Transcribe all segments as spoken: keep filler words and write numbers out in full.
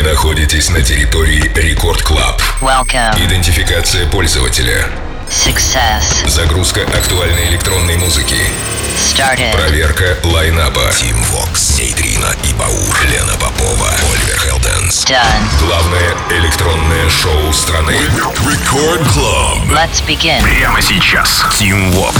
находитесь на территории Рекорд Клаб. Welcome. Идентификация пользователя. Success. Загрузка актуальной электронной музыки. Started. Проверка лайнапа. Тим Вокс, Нейтрина и Баур, Лена Попова, Оливер Хелденс. Done. Главное электронное шоу страны. Рекорд Клаб. Let's begin. Прямо сейчас. Тим Вокс.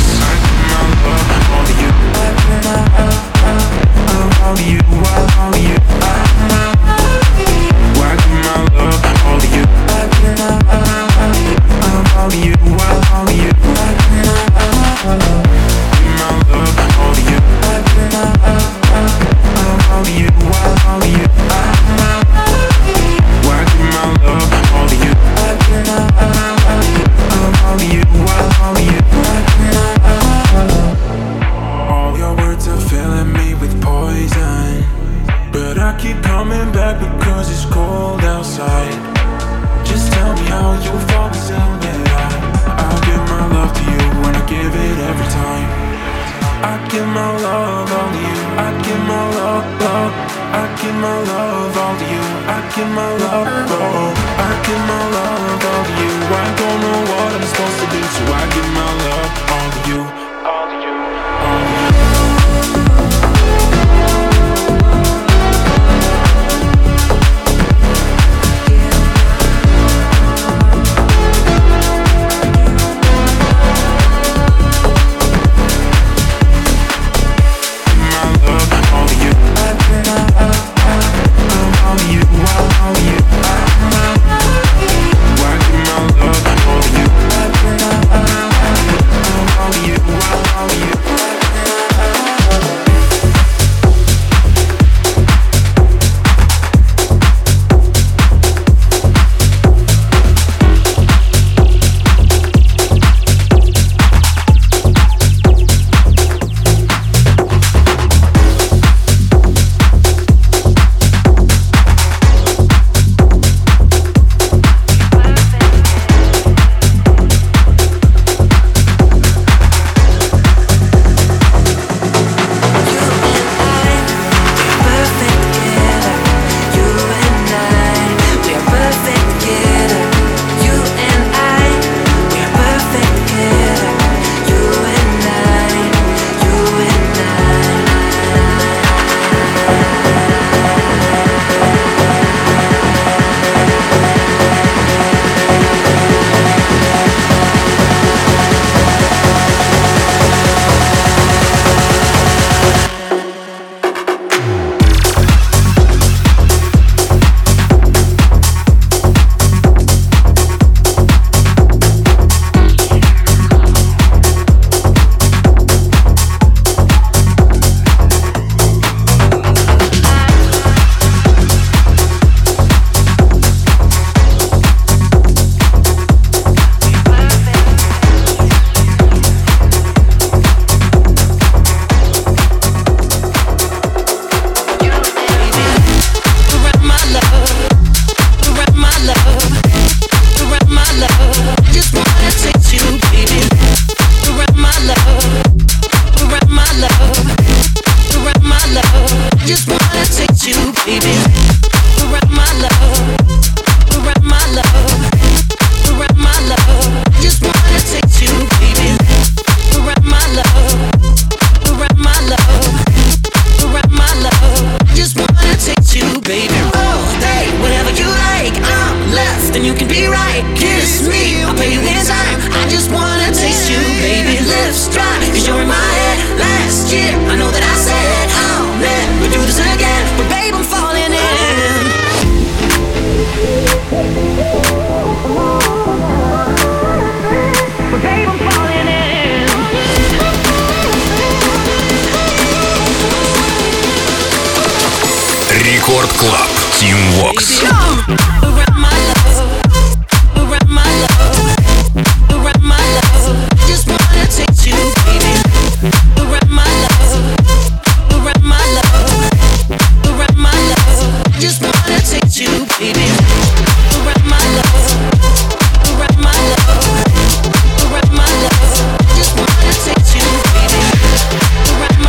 Рекорд Клаб. Тим Вокс.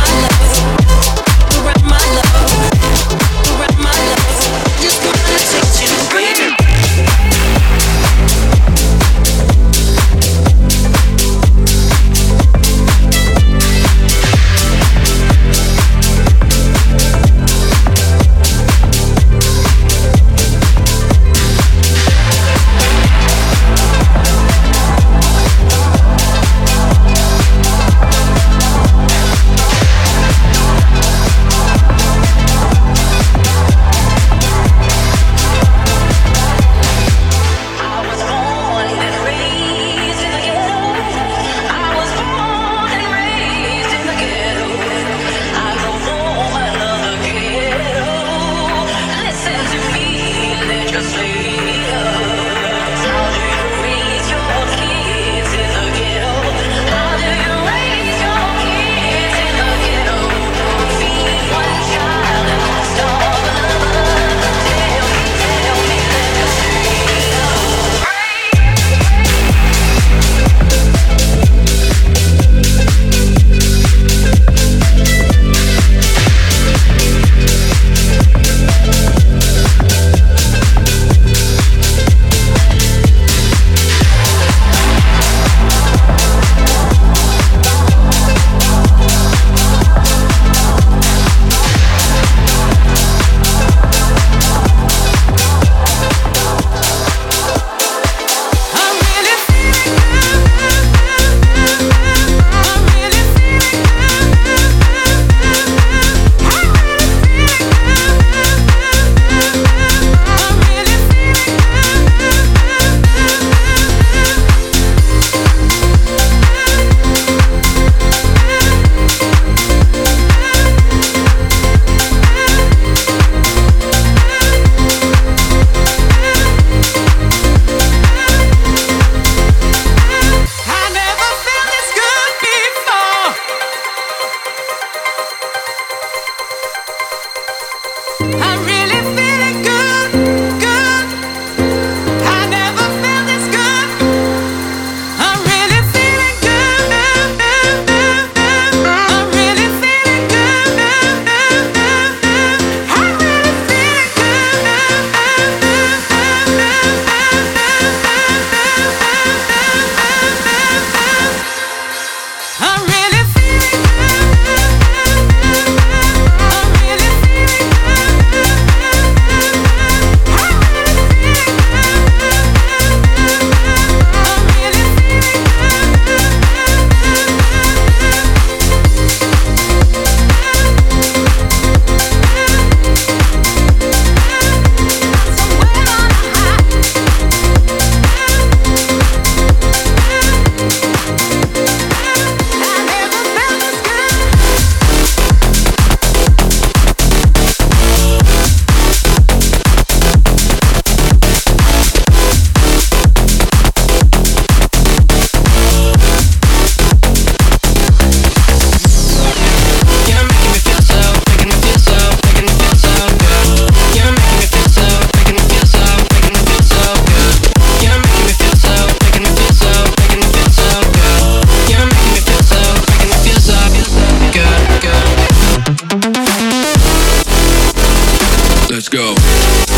Just wanna take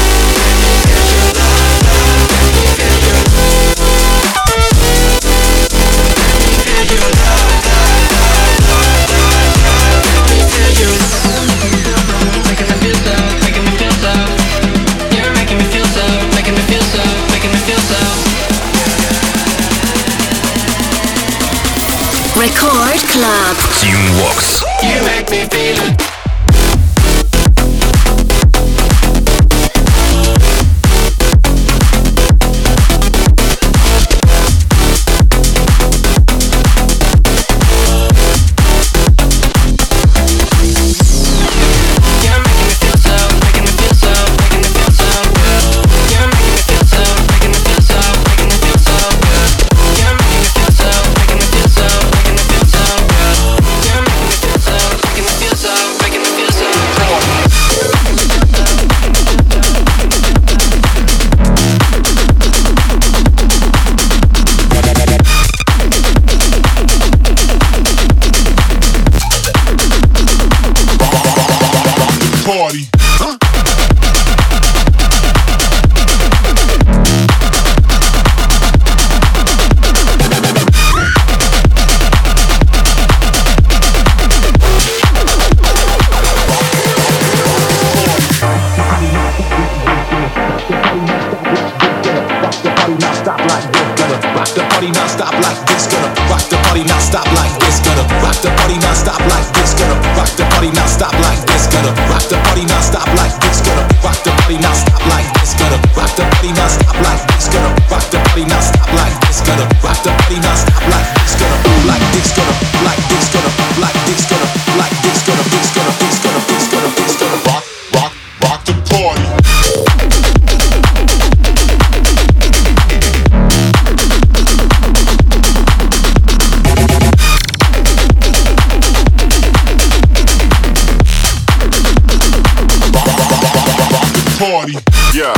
Record Club. Team Vox. You make me feel it. Party. Huh? Rock the party non-stop like this, gonna rock the party non-stop like this, gonna rock the party non-stop like this, gonna rock the party non-stop like this, gonna rock the party non-stop like this, gonna rock the party non-stop like this, gonna rock the party non-stop like this, gonna rock the party non-stop like this, gonna rock the party non-stop like this, gonna like this, gonna like this, gonna like this, gonna like this, gonna this, gonna this, gonna this, gonna this, gonna Rock, rock, rock the party. Party, yeah.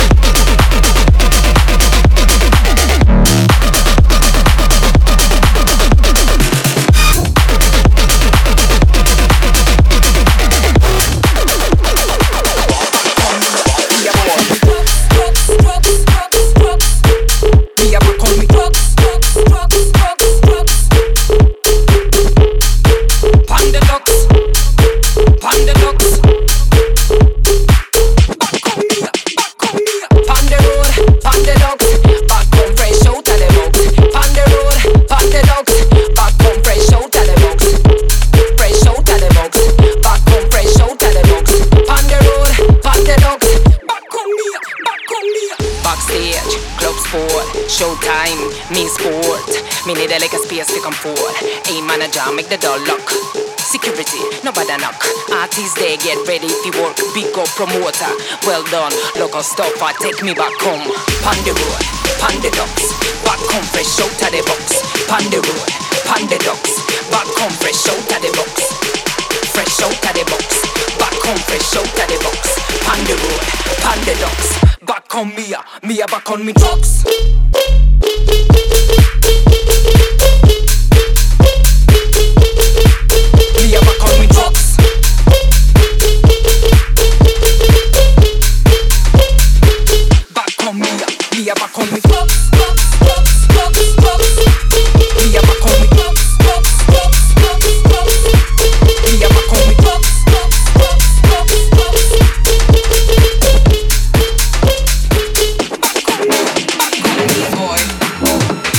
Showtime, me sport. Me need a like a space to come forward. A manager, make the door lock. Security, nobody knock. Artists, they get ready to work. Big up promoter, well done. Local stopper, take me back home. Pon the road, pon the docks. Back home fresh out of the box. Pon the road, pon the docks. Back home fresh out of the box. Fresh out of the box. Back home fresh out of the box. Pon the road, pon the docks. Back on me, me back on me drugs. Me back on me drugs. Back on me, me back on me drugs. Me back on me drugs. Me back on me drugs. Boy.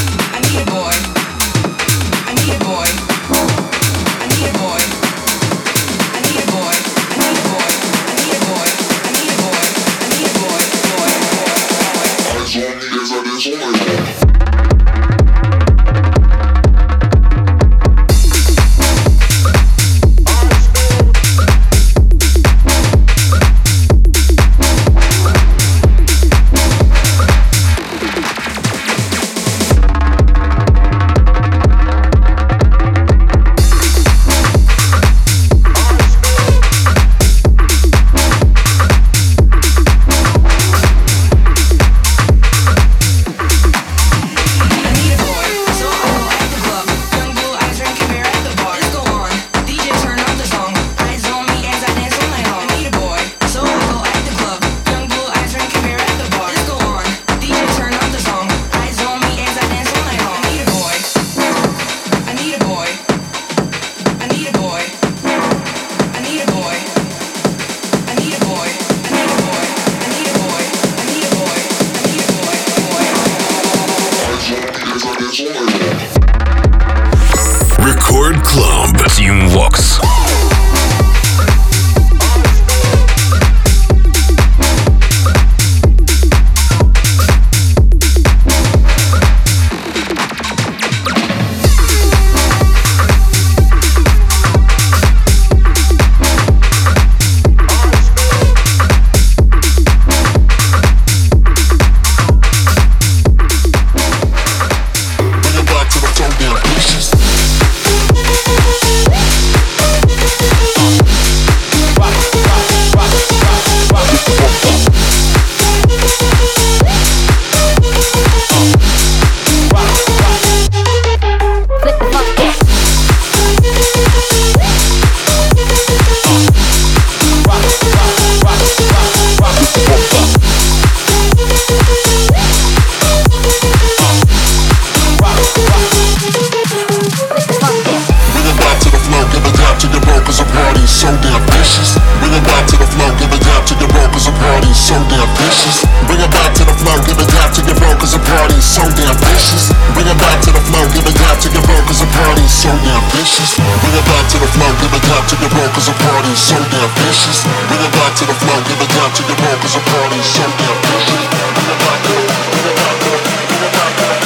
so damn vicious. Bring it back to the flow, give it down to your bro, cause the party's so damn vicious. Bring it back to the flow, give it down to your bro, cause the party's so damn vicious. Bring it back to the flow, give it down to your bro, cause the party's so damn vicious. Bring it back to the flow, give it down to your bro, cause the party's so damn vicious. Bring it back to the, bring it back to the, bring it back to the,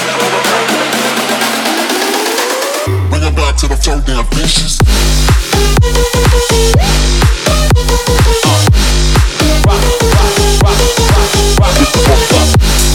bring it back to the so damn vicious. Rock, rock, rock, rock, rock, rock, rock.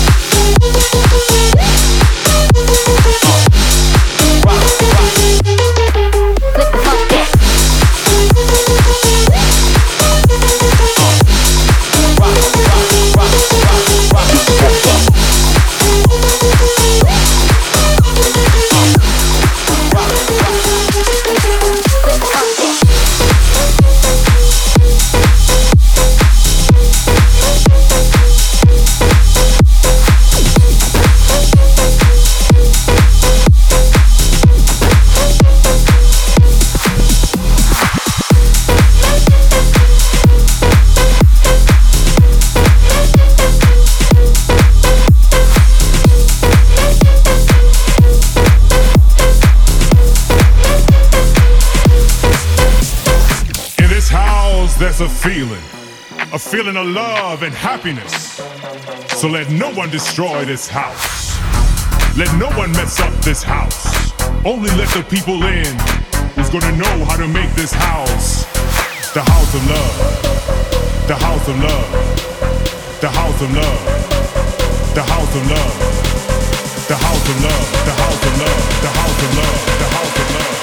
There's a feeling, a feeling of love and happiness. So let no one destroy this house. Let no one mess up this house. Only let the people in who's gonna know how to make this house the house of love. The house of love. The house of love. The house of love. The house of love. The house of love. The house of love. The house of love.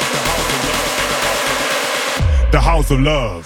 The house of love. The house of love.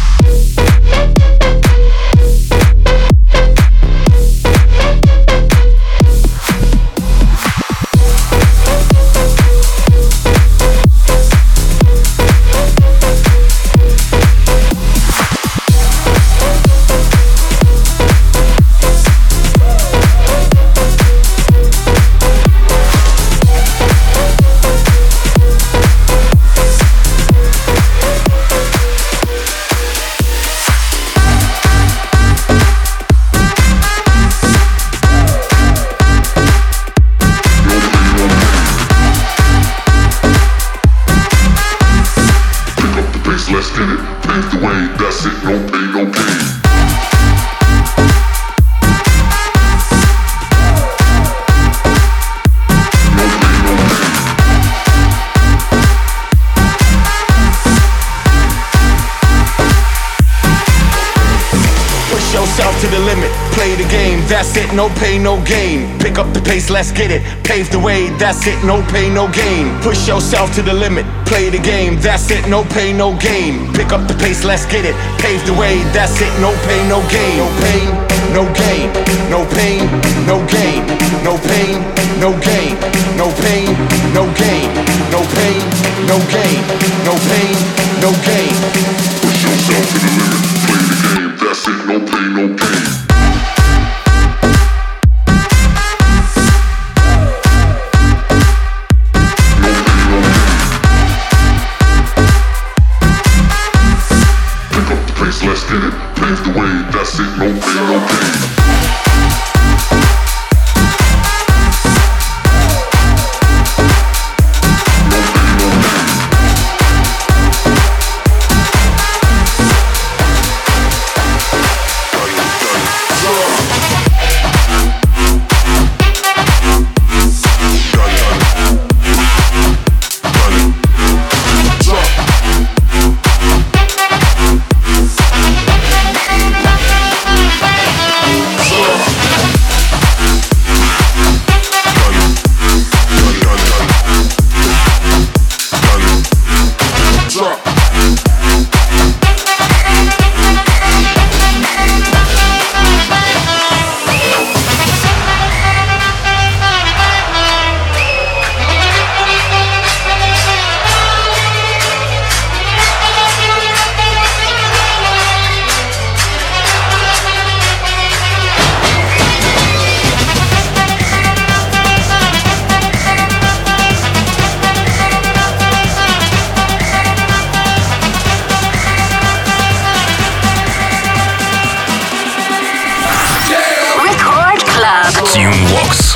That's it, no pain, no gain. Pick up the pace, let's get it. Pave the way, that's it, no pain, no gain. Push yourself to the limit, play the game. That's it, no pain, no gain. Pick up the pace, let's get it. Pave the way, that's it, no pain, no gain. No pain, no gain. No pain, no gain. No pain, no gain. No pain, no gain. No pain, no gain. No pain, no gain. Push yourself to the limit, play the game. That's it, no pain, no gain. Let's get it, pave the way, that's it, no pain, no gain. No pain, no gain. Team Vox.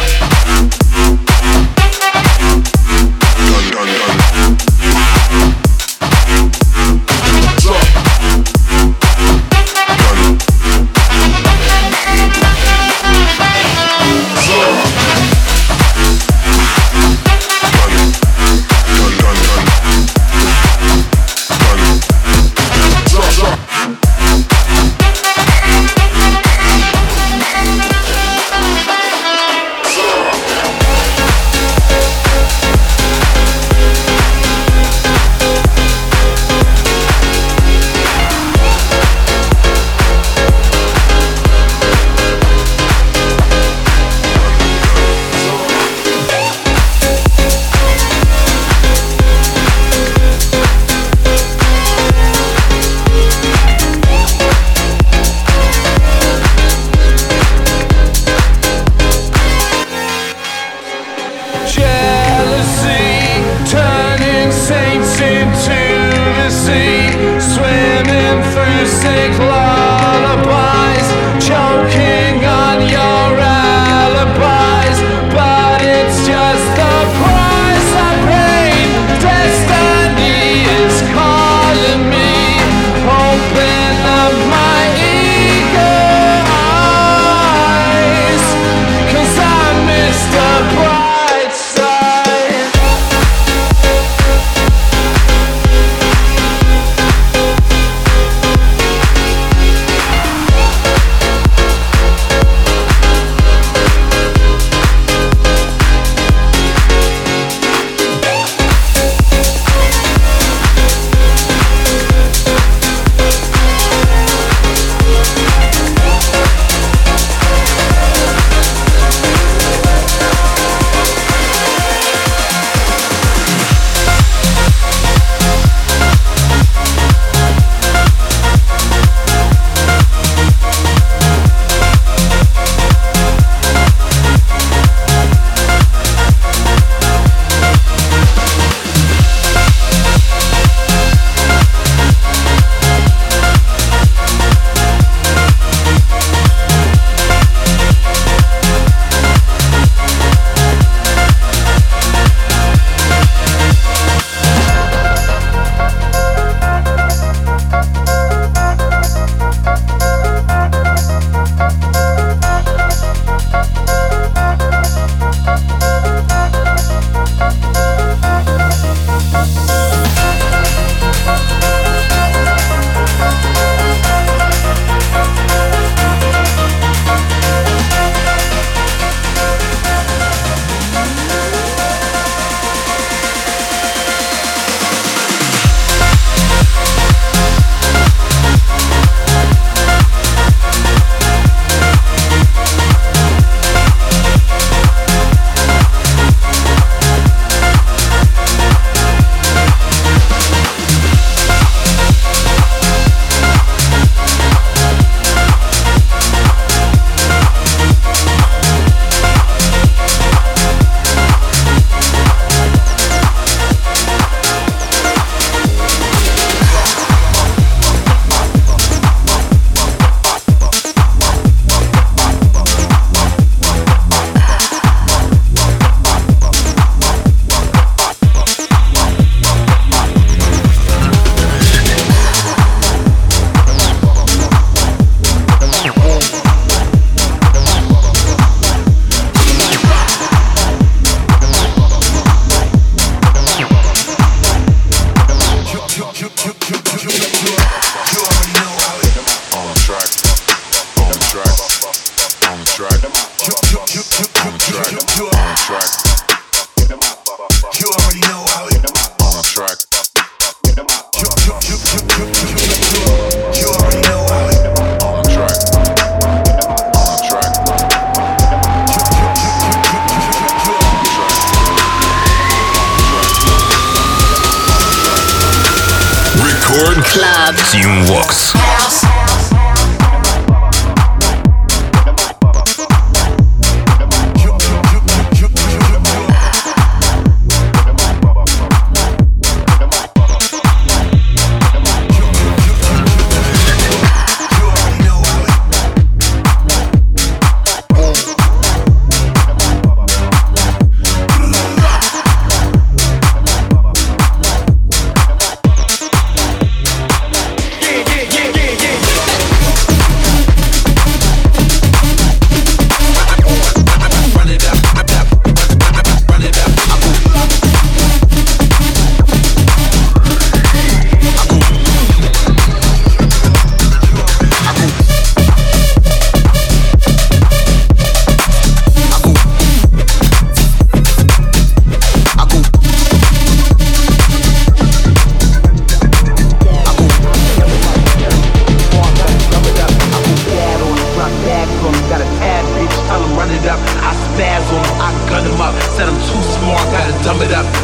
Club. Team Vox.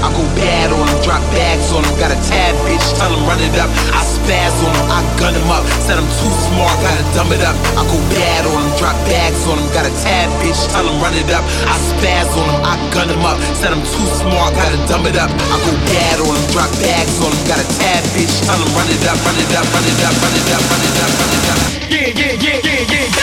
I go bad on them, drop bags on them. Got a tab bitch, tell them run it up. I spaz on them, I gun them up. Said I'm too smart, gotta dumb it up. I go bad on them, drop bags on them. Got a tab bitch, tell them run it up. I spaz on them, I gun them up. Said I'm too smart, gotta dumb it up. I go bad on them, drop bags on them. Got a tab bitch, tell them run it up, run it up, run it up, run it up, run it up, run it up. Yeah, yeah, yeah, yeah, yeah.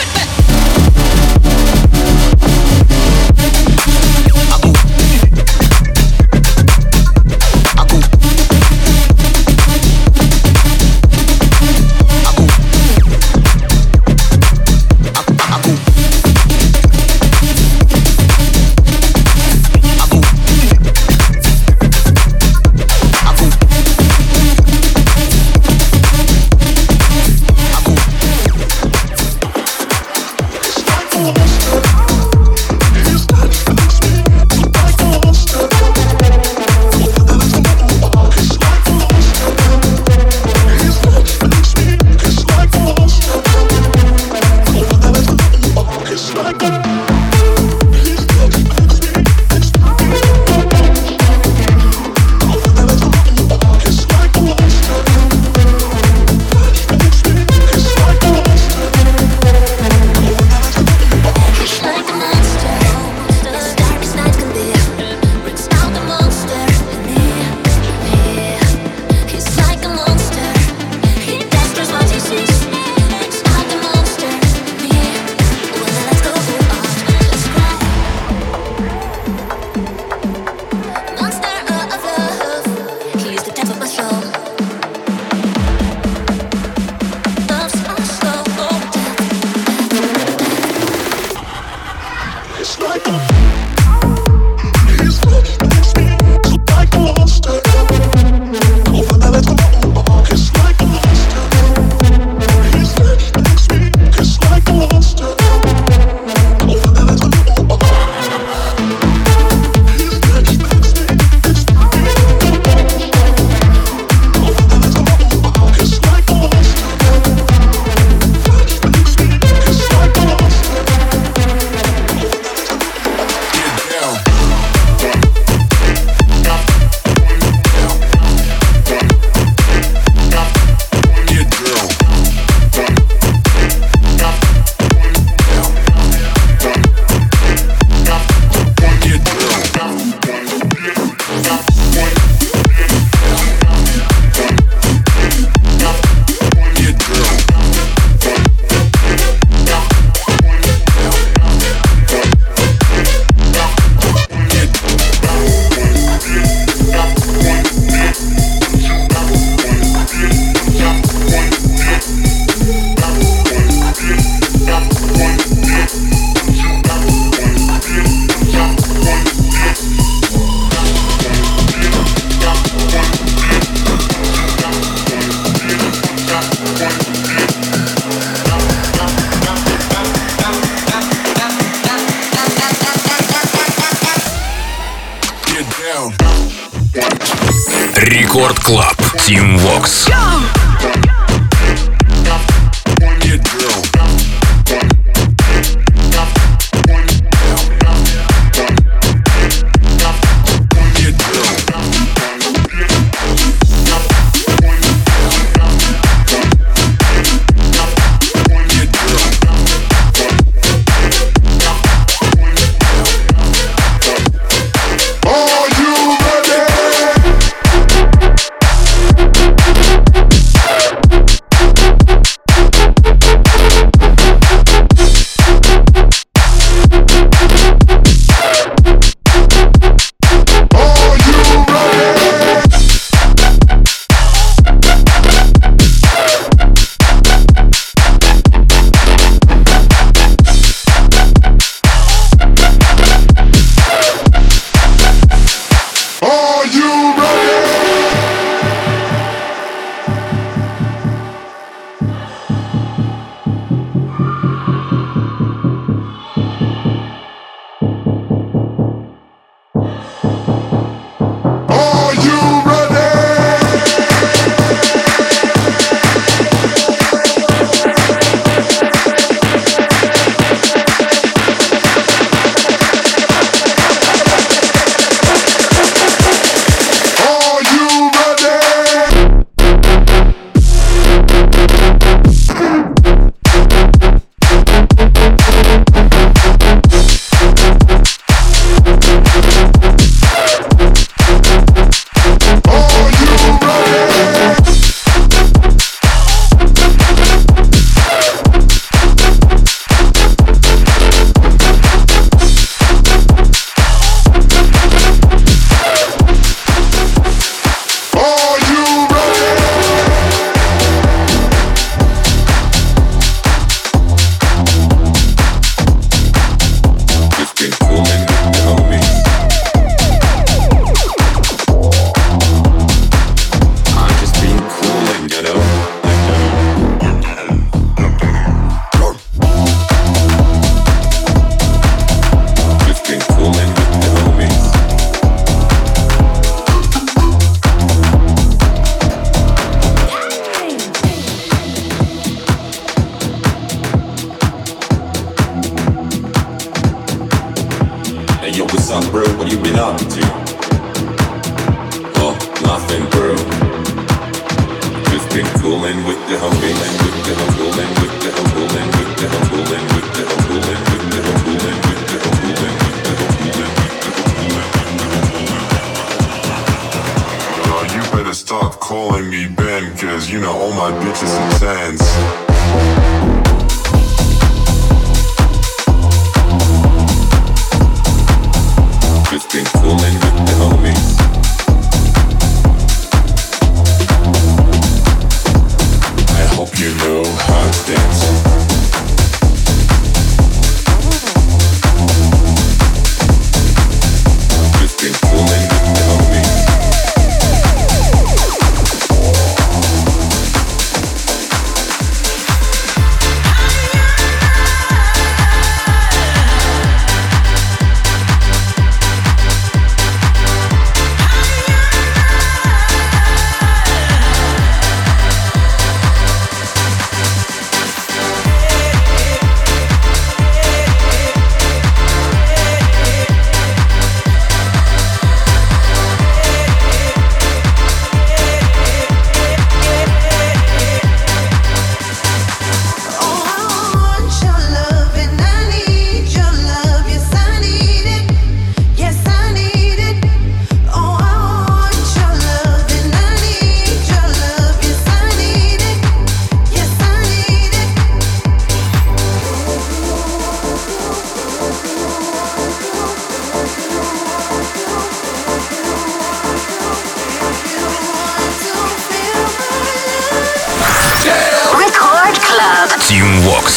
Рекорд Клаб. Team Vox. Are you ready? What's up, bro? What you been up to? Oh, nothing, bro. Just been cooling with the homies, with the cooling, with the cooling, with the cooling, with the cooling, with the cooling, with the cooling, with the cooling. Uh, you better stop calling me Ben, cause you know all my bitches are tens. Just been cooling with the homies. I hope you know how to dance. Just been cooling with the homies. Teamworks.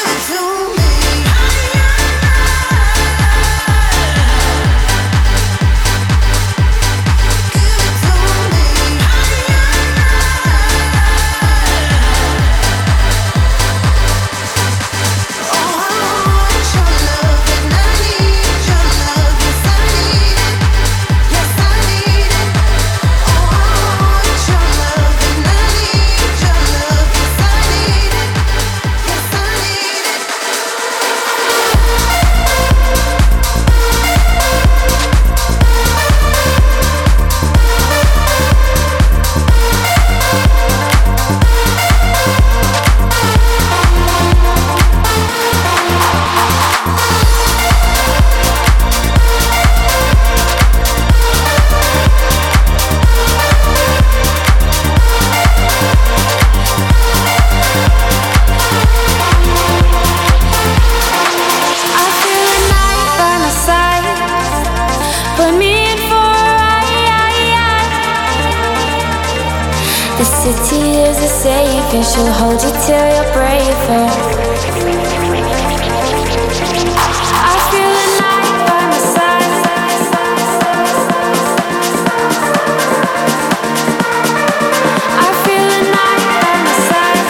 The city is a safe and she'll hold you till you're braver. I feel the night by my side. I feel the night by my side.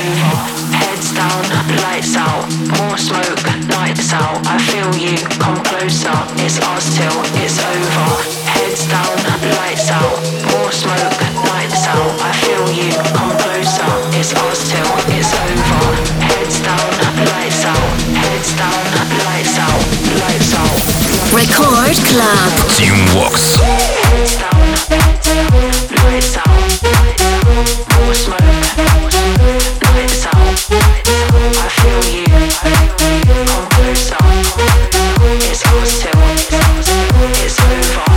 over. Heads down, lights out, more smoke, lights out. I feel you, come closer. It's us till it's over. Heads down, lights out, more smoke, lights out. I feel you, come closer. It's us till it's over. Heads down, lights out, heads down, lights out, lights out. Record Club. Team Vox. Heads down, lights out, more smoke, lights out. I feel you, come closer. It's us till it's over.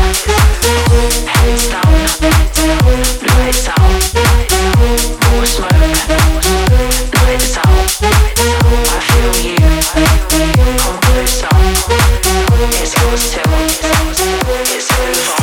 Heads down, lights out, more smoke, lights out. I feel you, come closer. It's us till it's over.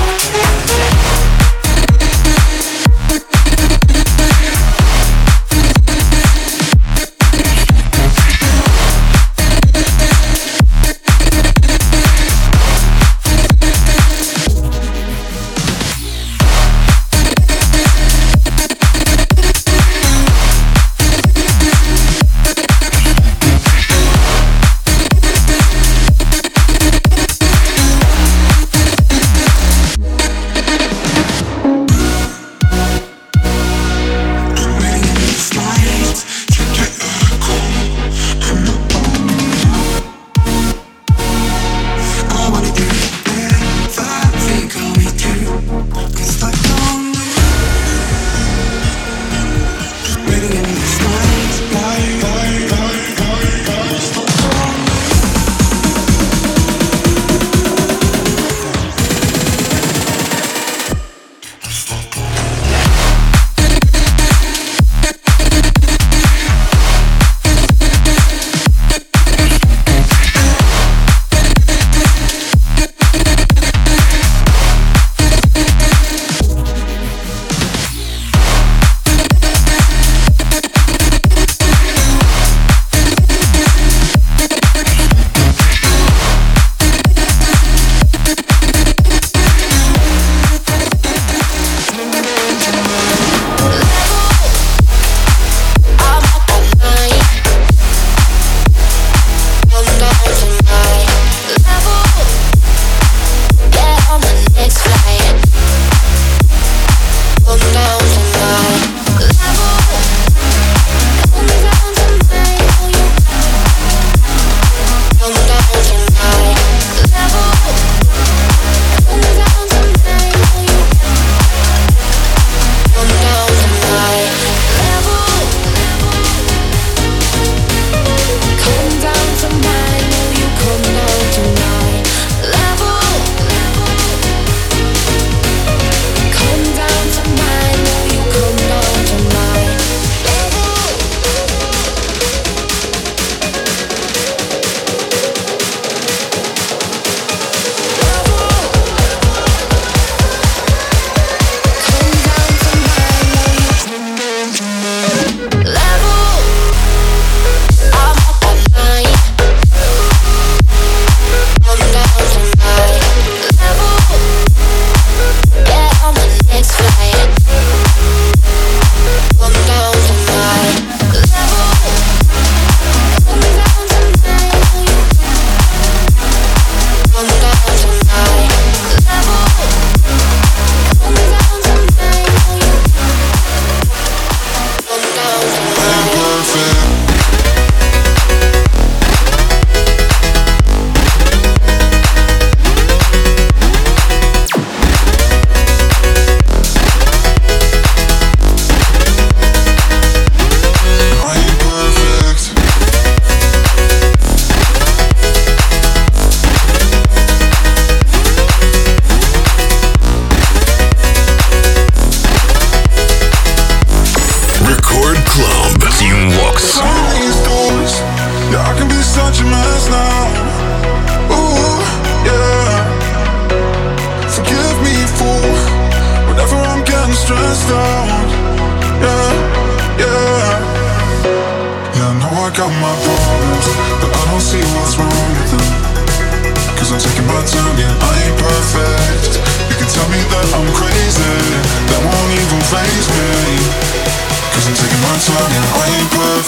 faze me, 'cause I'm taking my time and I ain't perfect.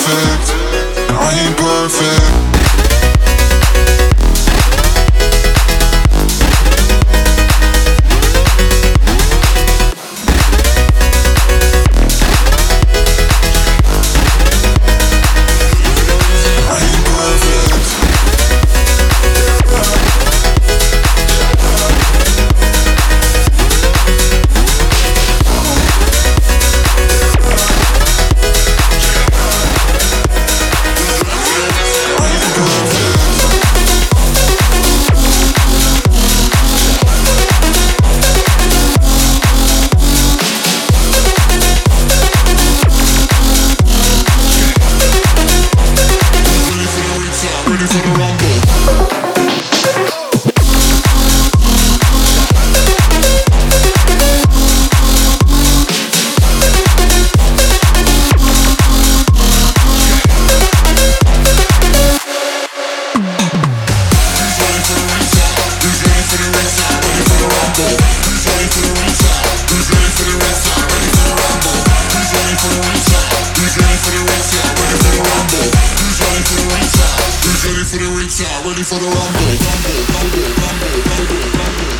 for the retail, ready for the rumble, rumble, rumble, rumble, rumble, rumble.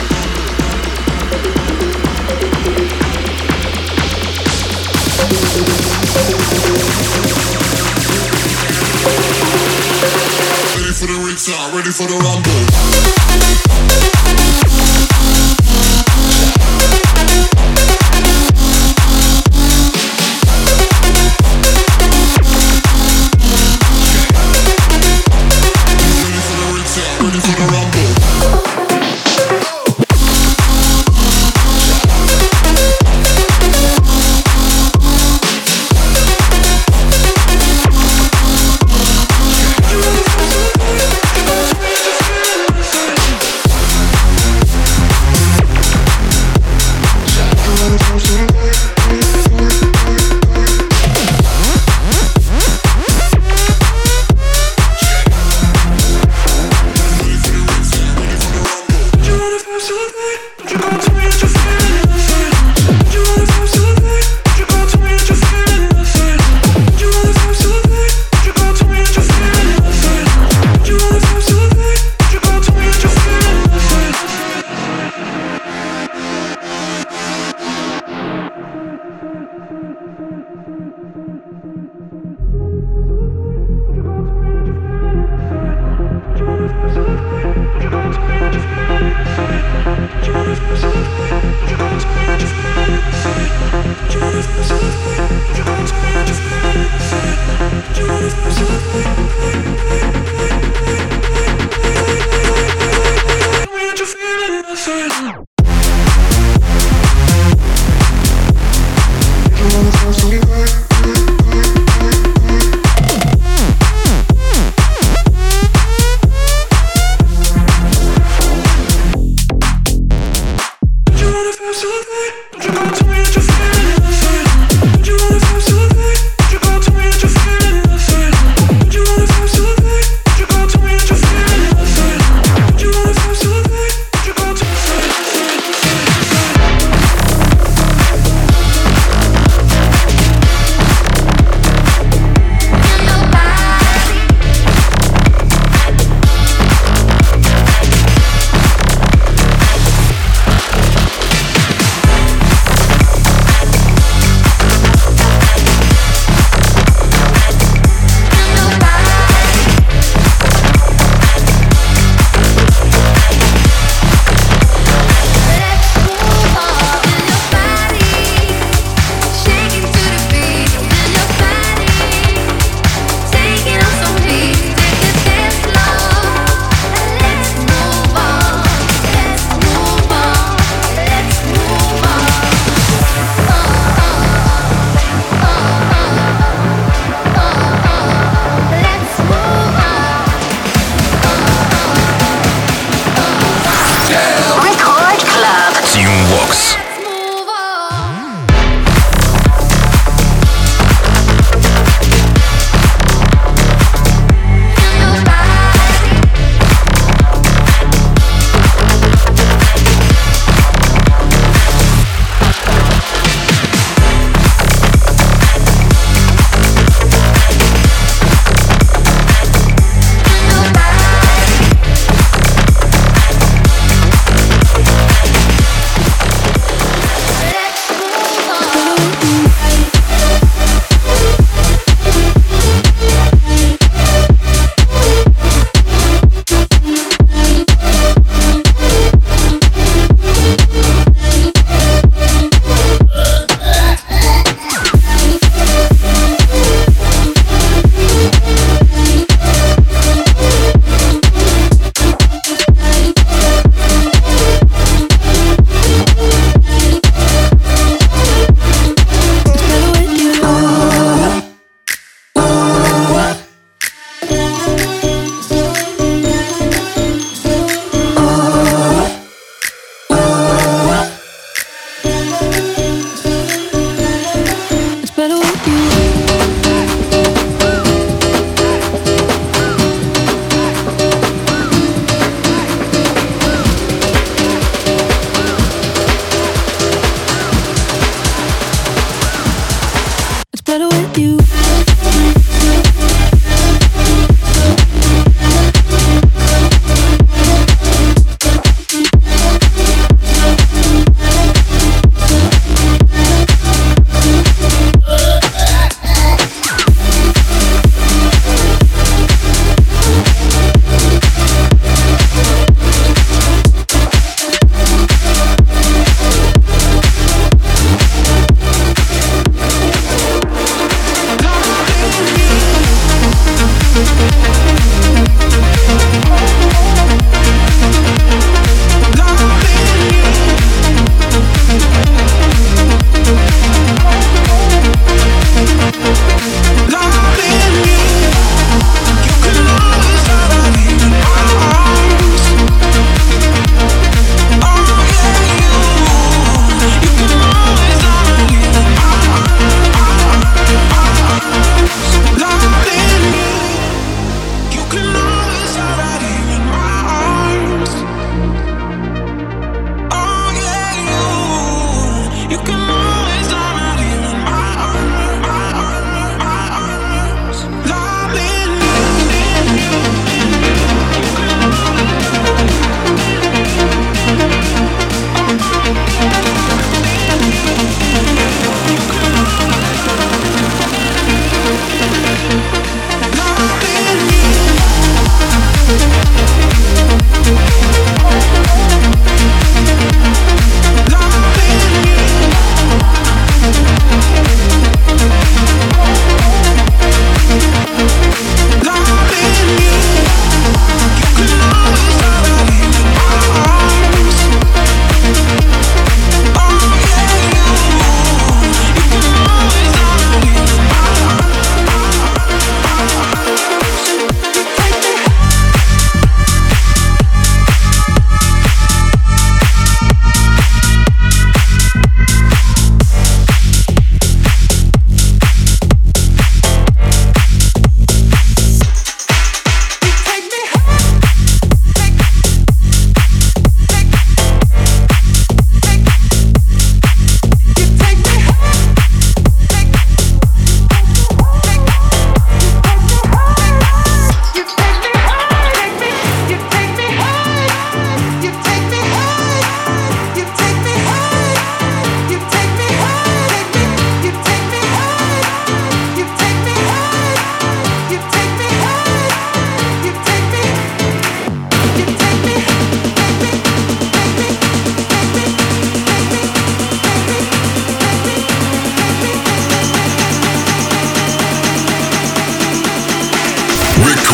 Ready for the retail, ready for the rumble. Ready for the rumble.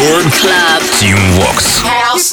Record Club. Team Vox. House.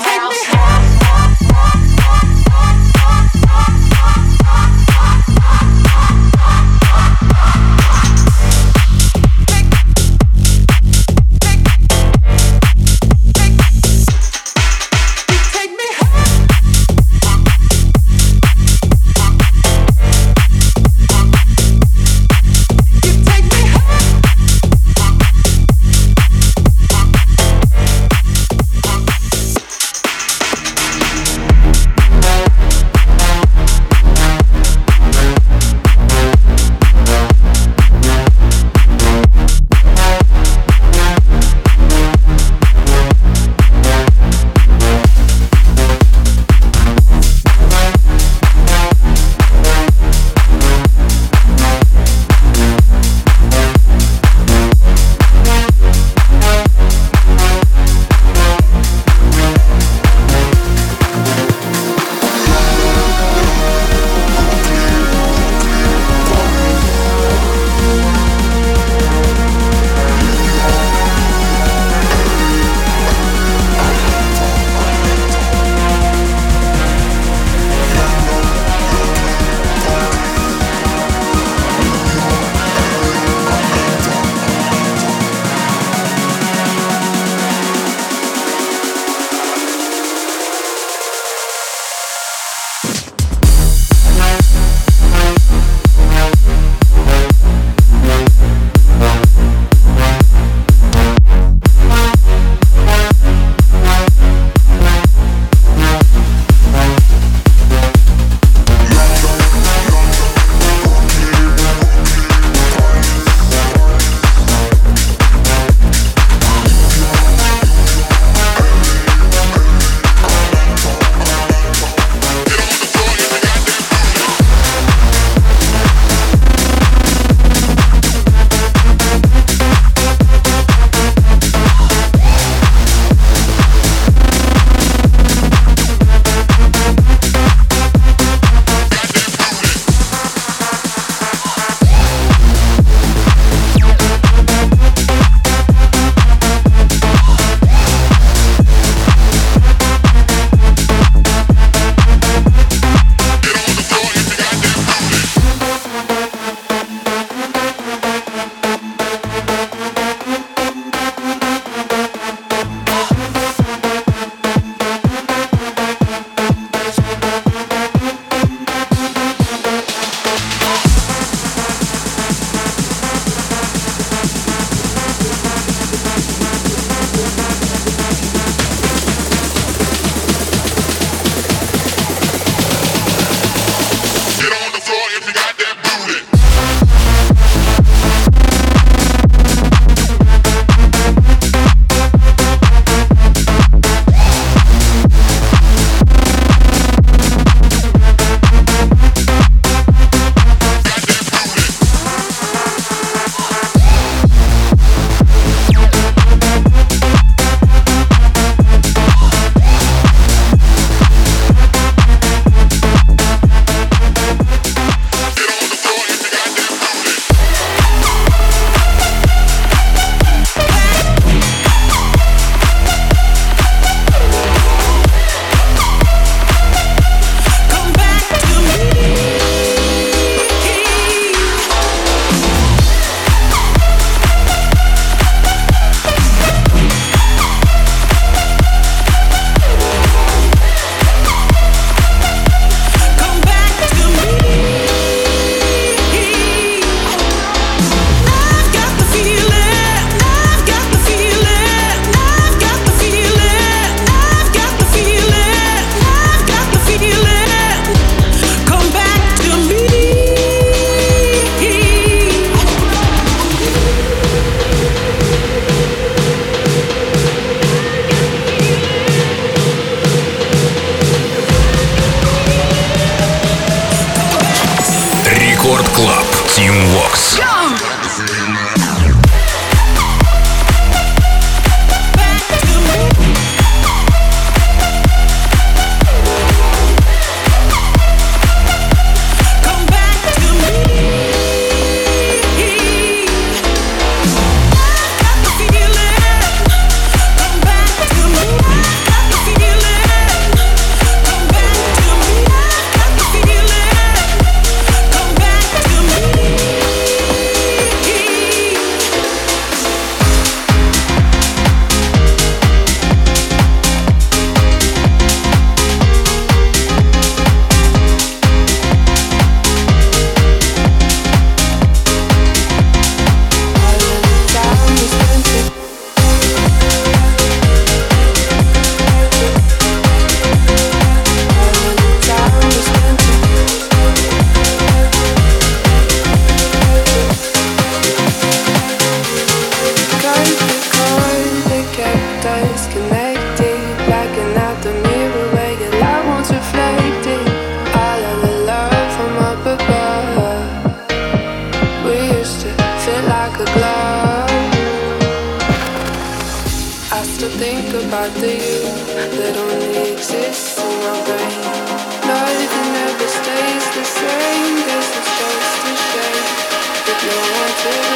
think about the you that only exists in my brain. Life never stays the same, guess it's just a shame that no one took